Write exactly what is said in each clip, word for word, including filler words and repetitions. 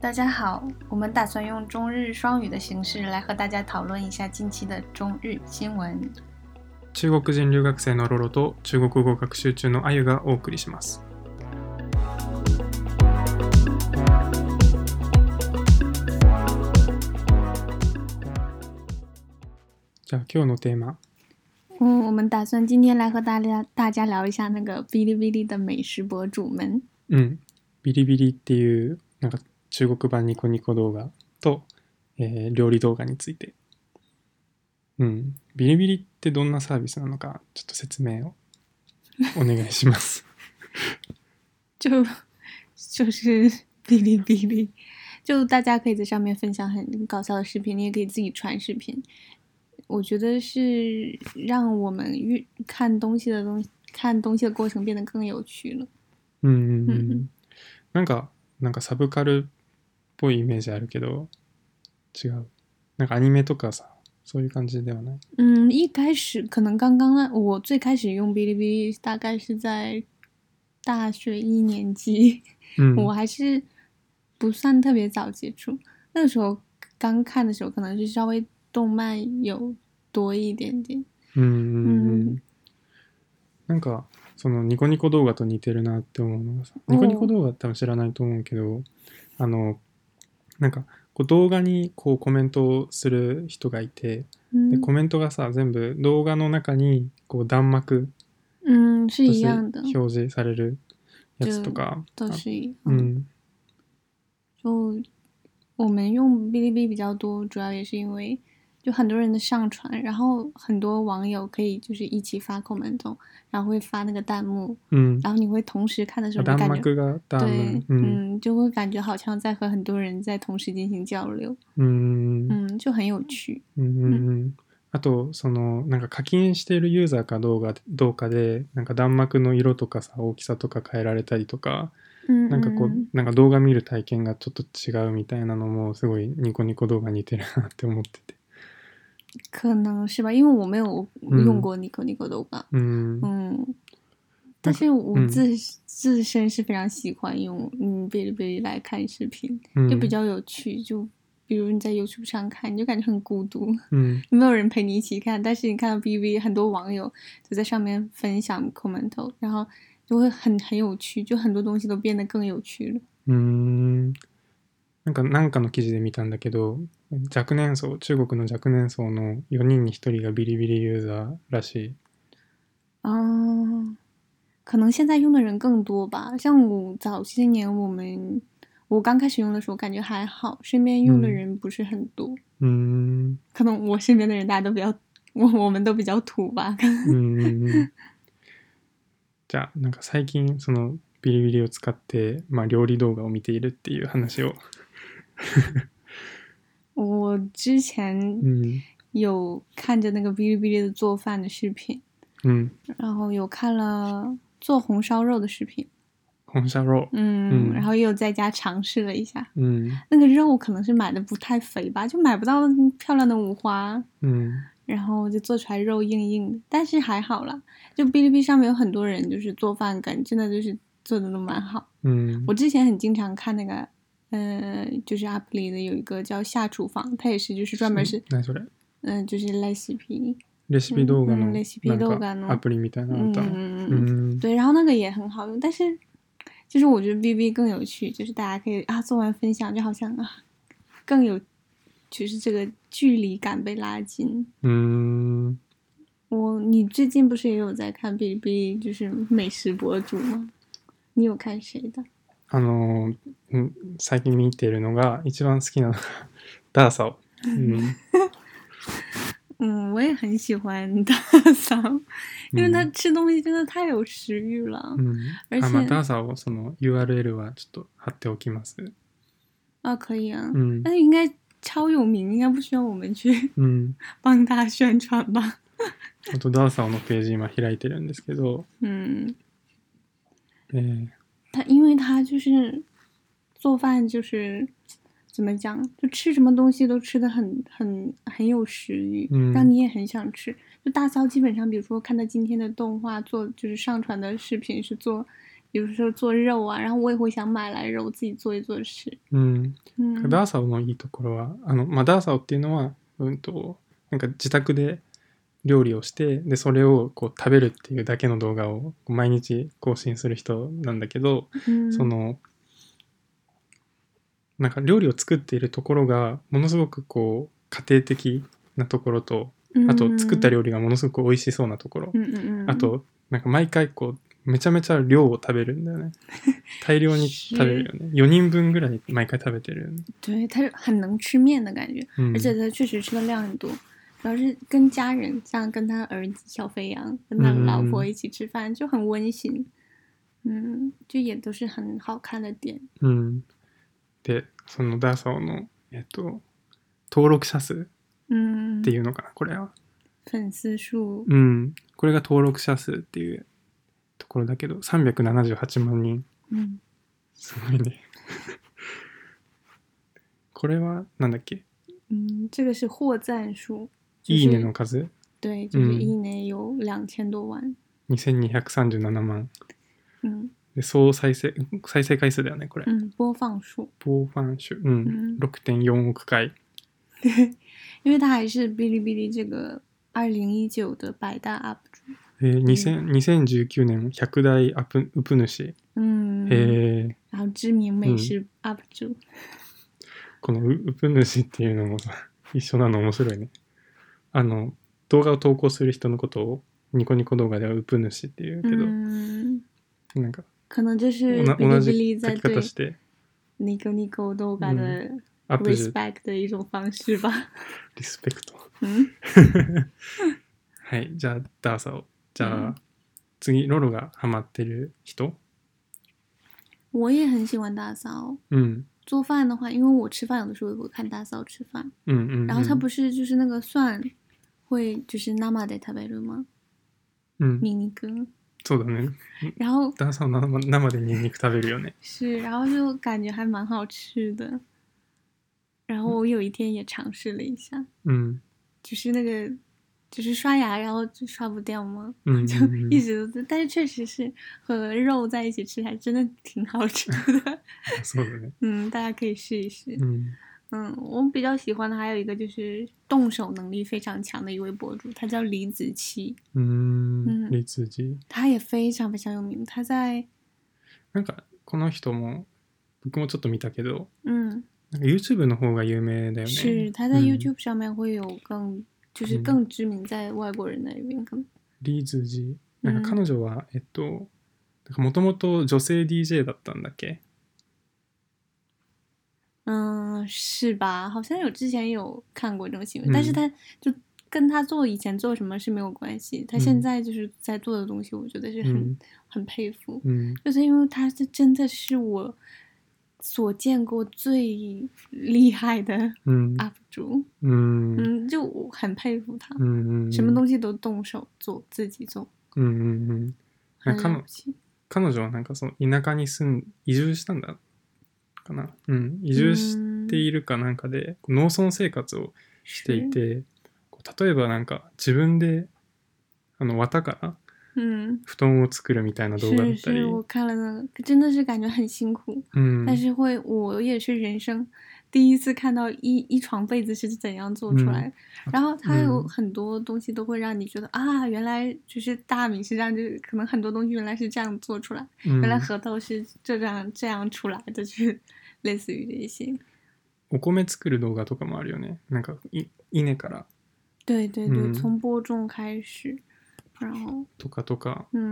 大家好，我们打算用中日双语的形式来和大家讨论一下近期的中日新闻。 中国人留学生のロロと中国語学習中のあゆがお送りします。じゃあ今日のテーマ。 嗯，我们打算今天来和大家大家聊一下那个哔哩哔哩的美食博主们。 うん、ビリビリっていうなんか中国版ニコニコ動画と、えー、料理動画について。うん、ビリビリってどんなサービスなのかちょっと説明をお願いします。 就就是哔哩哔哩，就大家可以在上面分享很搞笑的视频，你也可以自己传视频。我觉得是让我们看东西的东西看东西的过程变得更有趣了。 うんうんうん。なんかなんかサブカルっぽいイメージあるけど違う。なんかアニメとかさ。そういう感じではない。 嗯，一开始可能刚刚呢，我最开始用哔哩哔哩大概是在大学一年级，嗯、我还是不算特别早接触。那个时候刚看的时候，可能是稍微动漫有多一点点。 うんうんうん。なんかそのニコニコ動画と似てるなって思うのがさ、ニコニコ動画多分知らないと思うけど、あのなんかこう動画にこうコメントをする人がいて、でコメントがさ全部動画の中にこう弾幕として表示されるやつとか。 都是一样。嗯，就我们用哔哩哔哩比较多，主要也是因为就很多人的上传，然后很多网友可以就是一起发 comment， 然后会发那个弹幕，嗯，然后你会同时看的时候就感觉对，嗯，就会感觉好像在和很多人在同时进行交流，嗯嗯，就很有趣。 うんうんうん。あとそのなんか課金しているユーザーかどうかどうかでなんか弾幕の色とかさ大きさとか変えられたりとか、うんうん、なんかこうなんか動画見る体験がちょっと違うみたいなのもすごいニコニコ動画似てるなって思ってて。 可能是吧，因为我没有用过ニコニコ动画，嗯嗯，但是我自、嗯、自身是非常喜欢用嗯哔哩哔哩来看视频，就比较有趣，就比如你在 YouTube 上看，你就感觉很孤独，嗯，没有人陪你一起看，但是你看到哔哩哔哩很多网友就在上面分享 comment， 然后就会很很有趣，就很多东西都变得更有趣了。 嗯。なんかなんかの記事で見たんだけど、若年層、中国の若年層のよにんにひとりがビリビリユーザーらしい。 啊，可能现在用的人更多吧。像我早些年我们我刚开始用的时候感觉还好，身边用的人不是很多。嗯，可能我身边的人大家都比较我我们都比较土吧。 うんじゃあなんか最近そのビリビリを使ってまあ料理動画を見ているっていう話を。 我之前有看着那个哔哩哔哩的做饭的视频，嗯，然后有看了做红烧肉的视频， 红烧肉， 嗯，嗯然后也有在家尝试了一下，嗯，那个肉可能是买的不太肥吧，就买不到漂亮的五花，嗯，然后就做出来肉硬硬的，但是还好啦，就哔哩哔哩上面有很多人就是做饭感真的就是做的都蛮好，嗯，我之前很经常看那个。呃，就是 app 里的有一个叫下厨房，它也是就是专门是，嗯、呃，就是レシピ， レシピ動画のレシピ動画のアプリみたいなの。 嗯嗯，对，然后那个也很好用，但是就是我觉得 B B 更有趣，就是大家可以啊做完分享，就好像啊更有，就是这个距离感被拉近。嗯，我你最近不是也有在看 B B 就是美食博主吗？你有看谁的？ あの最近見てるのが一番好きなのがダーサオ。嗯嗯，我也很喜欢大嫂，因为他吃东西真的太有食欲了。嗯，而且あ、まあ、ダーサオその U R L はちょっと貼っておきます。 啊，可以啊。嗯，但是应该超有名，应该不需要我们去嗯帮他宣传吧。 あとダーサオのページ今開いてるんですけど。嗯。 えー他因为他就是做饭就是怎么讲，就吃什么东西都吃得很很很有食欲，嗯，让你也很想吃。就大骚基本上，比如说看他今天的动画做，就是上传的视频是做有时候做肉啊，然后我也会想买来肉自己做一做吃。 うん。うん、ダーサオのいいところは、あの、まあ、ダーサオっていうのは、うんと、なんか自宅で料理をして、で、それをこう食べるっていうだけの動画を毎日更新する人なんだけど、うん、その、なんか料理を作っているところが、ものすごくこう、家庭的なところと、あと作った料理がものすごく美味しそうなところ、うん、あと、なんか毎回こう、めちゃめちゃ量を食べるんだよね。大量に食べるよね。よにんぶんぐらい毎回食べてるよね。 对，他很能吃面的感觉，而且他确实吃的量很多。主要是跟家人，像跟他儿子小飞扬，跟他老婆一起吃饭，就很温馨。嗯，就也都是很好看的点。 うん。で、そのダーサオの、えっと、登録者数っていうのかな、これは。 粉丝数。 うん。これが登録者数っていうところだけど、さんびゃくななじゅうはちまんにん。うん。すごいね。これはなんだっけ？ 嗯，这个是获赞数。 いいねの数？ 对，就是いいね有两千多万。 にせんにひゃくさんじゅうななまん。うん。で、総再生、再生回数だよね、これ。 うん、播放数。 播放数。うん。ろくてんよんおく回。 因为他还是哔哩哔哩这个二零一九的百大 U P 主。 えー、にせんじゅうきゅうねんひゃくだいアップウプ主。 嗯。へえ。然后知名美食 U P 主。うん、 このウプ主っていうのもさ、一緒なの面白いね。あの、動画を投稿する人のことをニコニコ動画ではウプ主っていうけど、うん、なんか、 可能就是同じ書き方して、 ニコニコ動画的 respect 的一種方式吧。 リスペクト。はい、じゃあ、ダーサオ。じゃあ、うん、次、ロロがハマってる人？ 我也很喜欢大嫂。嗯，做饭的话，因为我吃饭有的时候也会看大嫂吃饭。嗯嗯。然后他不是就是那个蒜会就是生で食べる吗？嗯。ニンニク。 そうだね。 然后大嫂生生でニンニク食べるよね。 是，然后就感觉还蛮好吃的。然后我有一天也尝试了一下。嗯。就是那个。就是刷牙，然后就刷不掉吗？嗯，就一直都，但是确实是和肉在一起吃，还真的挺好吃的。嗯，大家可以试一试。嗯嗯，我比较喜欢的还有一个就是动手能力非常强的一位博主，他叫李子柒。 嗯，李子柒。 他也非常非常有名，他在。 なんかこの人も僕もちょっと見たけど、嗯，YouTube の方が有名だよね。 是，他在 YouTube 上面会有更。就是更知名在外国人那边可能。 リーズジ。なんか彼女は、うん、えっと、もともと女性 D J だったんだっけ？ 嗯，是吧？好像有之前有看过这种新闻，嗯、但是他就跟他做以前做什么是没有关系。他现在就是在做的东西，我觉得是很、嗯、很佩服。嗯，就是因为他是真的是我。所见过最厉害的 U P 主，嗯嗯，就我很佩服他，嗯嗯，什么东西都動手做，自己做， うんうんうん。彼女彼女はなんかその田舎に住ん移住したんだかな、うん、移住しているかなんかで農村生活をしていて、例えばなんか自分であの綿から嗯，布団を作るみたいな動画だったり。 是是，我看了那个，真的是感觉很辛苦。嗯，但是会，我也是人生第一次看到一一床被子是怎样做出来的。嗯、然后它有很多东西都会让你觉得、嗯、啊，原来就是大米是这样，就是可能很多东西原来是这样做出来，嗯、原来核桃是这样这样出来的，就是类似于这些。 お米作る動画とかもあるよね。なんかい稲から。 对对对，嗯、从播种开始。 とかとか、うん、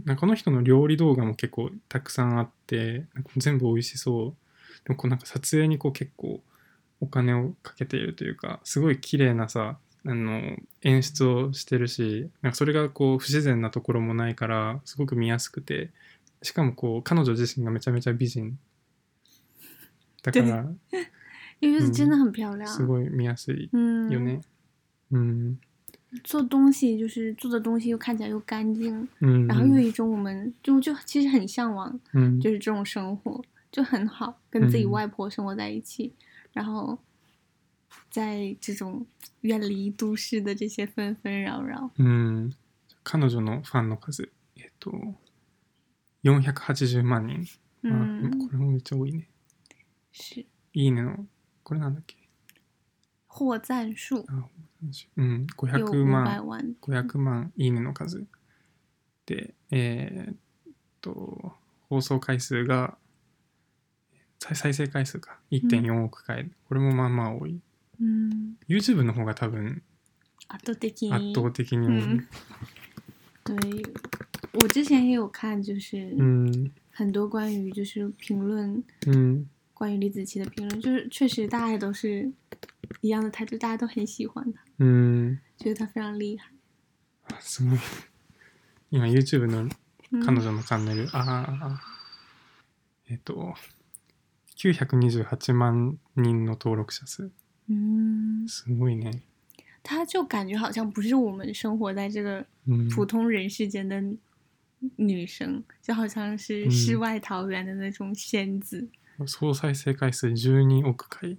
なんかこの人の料理動画も結構たくさんあって、なんか全部美味しそう。でもこうなんか撮影にこう結構お金をかけているというか、すごい綺麗なさ、あの演出をしてるし、なんかそれがこう不自然なところもないからすごく見やすくて、しかもこう彼女自身がめちゃめちゃ美人だから、 因为是真的很漂亮、 うん、すごい見やすいよね。うん。うん做东西就是做的东西又看起来又干净，嗯，然后又有一种我们就就其实很向往，嗯，就是这种生活就很好，跟自己外婆生活在一起，嗯、然后在这种远离都市的这些纷纷扰扰。 嗯，彼女のファンの数、えっと、 よんひゃくはちじゅうまんにん。 嗯， あ、これもめっちゃ多いね。 是。 いいねの、これなんだっけ。 获赞数。 あ、うん、ごひゃくまん、ごひゃくまんいいねの数。で、えー、っと、放送回数が、再生回数か いってんよんおく回、うん、これもまあまあ多い、 うん、 YouTube の方が多分圧倒的に圧倒的に多い、 嗯、对，我之前也有看，就是很多关于就是评论，嗯，关于李子柒的评论，就是确实大家都是一样的态度，大家都很喜欢他，嗯，觉得他非常厉害。 すごい。今 YouTube の彼女のチャンネル、うん、ああえっときゅうひゃくにじゅうはちまんにんの登録者数。嗯，すごいね。 他就感觉好像不是我们生活在这个普通人世间的女生，嗯、就好像是世外桃源的那种仙子。 総再生回数じゅうにおく回。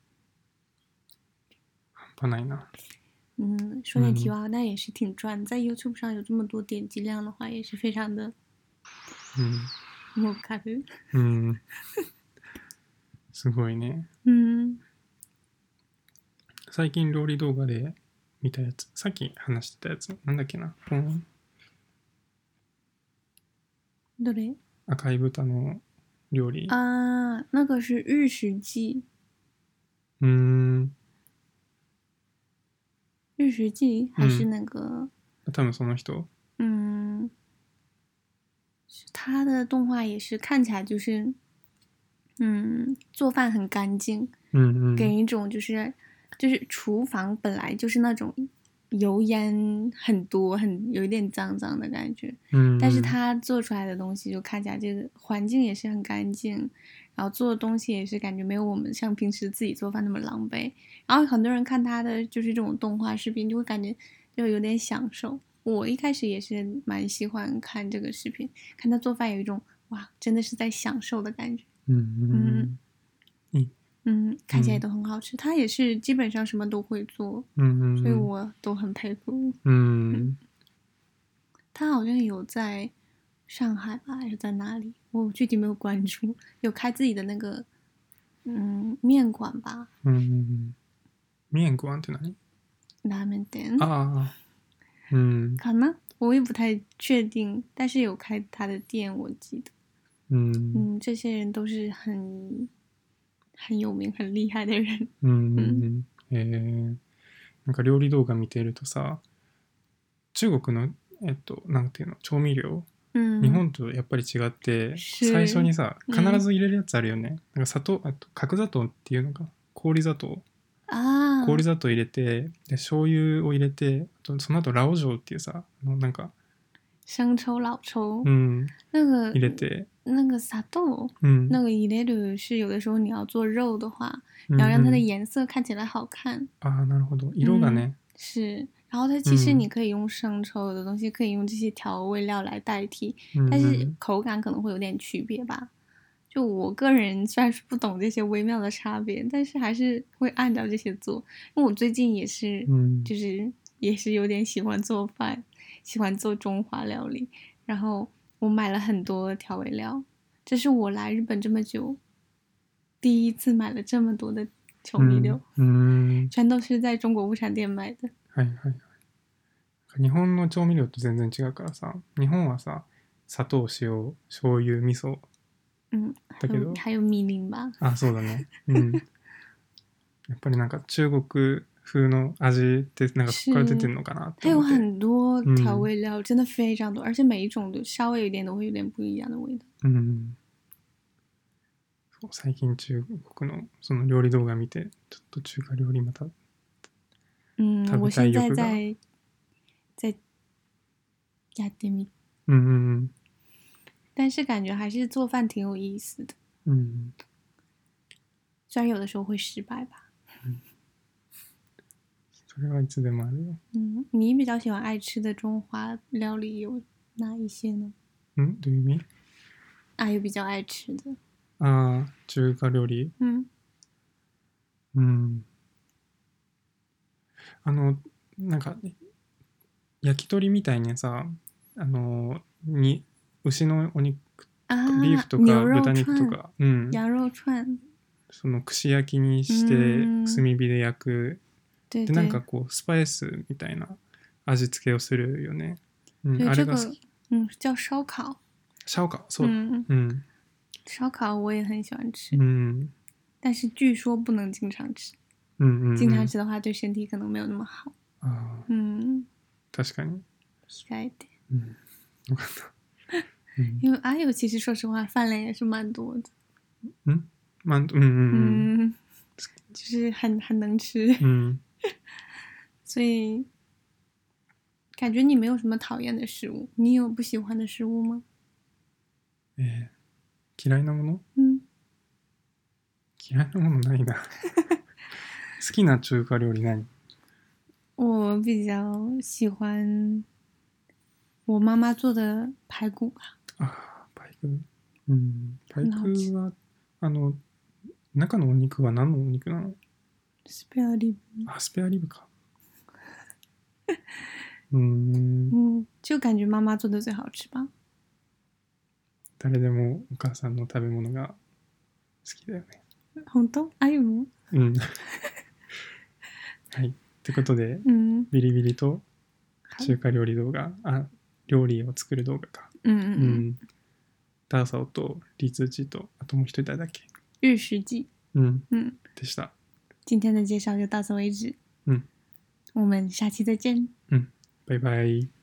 半端ないな。 嗯，说点题外话，那也是挺赚。在 YouTube 上有这么多点击量的话，也是非常的。嗯。儲かる。 うん。すごいね。 うん。 最近料理動画で見たやつ、さっき話してたやつ、なんだっけな。うん、 どれ？ 赤い豚の料理。 あー、那个是日食記。 うーん。 日食記还是那个？ 嗯、多分その人。 嗯，他的动画也是看起来就是，嗯，做饭很干净， 嗯嗯， 给人一种就是就是厨房本来就是那种油烟很多，很有一点脏脏的感觉，嗯，但是他做出来的东西就看起来这个环境也是很干净，然后做的东西也是感觉没有我们像平时自己做饭那么狼狈，然后很多人看他的就是这种动画视频就会感觉就有点享受。我一开始也是蛮喜欢看这个视频，看他做饭有一种哇，真的是在享受的感觉。嗯嗯嗯嗯，看起来都很好吃。他也是基本上什么都会做，嗯嗯，所以我都很佩服。嗯，他好像有在上海吧，还是在哪里？我具体没有关注。有开自己的那个嗯面馆吧。 嗯，面馆って何？ 拉面店。 啊。嗯， 可能我也不太确定，但是有开他的店，我记得。嗯嗯，这些人都是很很有名、很厉害的人。 うんうんうん。えー、なんか料理動画見てるとさ、中国のえっとなんていうの調味料、うん、日本とやっぱり違って、最初にさ必ず入れるやつあるよね。うん、なんか砂糖、あと角砂糖っていうのか、氷砂糖。 あ氷砂糖入れて、で醤油を入れて、その後ラオジョウっていうさ、なんか生抽、老抽， 嗯， 那个入れて， 那个砂豆， 嗯， 那个入れる是有的时候你要做肉的话，你要让它的颜色看起来好看。 啊，なるほど，色がね、 是，然后它其实你可以用生抽，有的东西可以用这些调味料来代替，但是口感可能会有点区别吧。就我个人虽然是不懂这些微妙的差别，但是还是会按照这些做。因为我最近也是，就是也是有点喜欢做饭。喜欢做中华料理，然后我买了很多调味料，这是我来日本这么久第一次买了这么多的調味料，嗯嗯、全都是在中国物产店買的。 はいはいはい。日本の調味料と全然違うからさ、日本はさ、砂糖、塩、醤油、味噌。 嗯，だけど还有米林吧。 あ、そうだね。うん。やっぱりなんか中国風の味ってなんかそこから出てるのかなって思って。它有很多调味料、嗯、真的非常多，而且每一种都稍微有一点都会有点不一样的味道。 うん。そう最近中国のその料理動画見てちょっと中華料理また嗯， 食べたい欲が。我现在在在やってみ。 嗯嗯嗯。 但是感觉还是做饭挺有意思的。 嗯。 虽然有的时候会失败吧。 嗯。それはいつでもあるよ。 嗯，你比较喜欢爱吃的中华料理有哪一些呢？ 嗯，どういう意味？ 啊，有比较愛吃的。 ああ、中華料理。 うん。 うん。あのなんか焼き鳥みたいにさ、あのに牛のお肉、 啊， ビーフとか牛肉豚肉と串、 か、うん、 羊肉串， その串焼きにしてうん炭火で焼く。 对でなんか对こうスパイスみたいな味付けをするよね。うん、 对， あれ这个が好き。 嗯叫烧烤， 烧烤、そうだ。 嗯， うん。 烧烤我也很喜欢吃， うん。 但是据说不能经常吃， うんうん、うん。 经常吃的话对身体可能没有那么好。 ああ、 嗯， 確かに。 控えて。 うん。よかった。うん、 因为阿友其实说实话饭量也是蛮多的。 嗯，蛮嗯嗯嗯， 嗯，就是很很能吃。 嗯， 所以感觉你没有什么讨厌的食物，你有不喜欢的食物吗？ えー、嫌いなもの？ 嗯， 嫌いなものないな。好きな中華料理何？ 我比较喜欢我妈妈做的排骨吧。 ああ、パイク。うん、パイ很好吃。 クはあの中のお肉は何のお肉なの？ スペアリブ。 あ、スペアリブか。うーん。 嗯，就感觉妈妈做的最好吃吧。 誰でもお母さんの食べ物が好きだよね。 本当？あゆも？ うん。はい。ってことで、 うん、 ビリビリと中華料理動画、あ、料理を作る動画か。 うんうんうん。 ダーサオとリツチと、あともう一人誰だっけ？ 日食记。 うん。 嗯， でした。 今天的介绍就到此为止。 嗯， 我们下期再见。 嗯，拜拜。